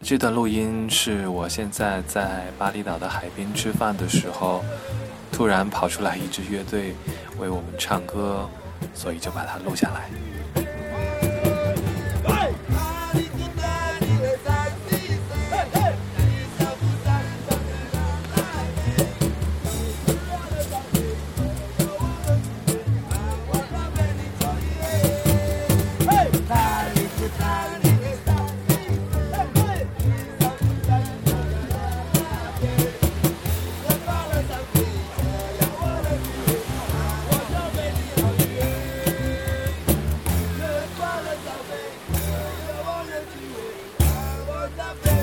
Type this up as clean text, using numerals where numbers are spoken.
这段录音是我现在在巴厘岛的海边吃饭的时候，突然跑出来一支乐队为我们唱歌，所以就把它录下来。 Love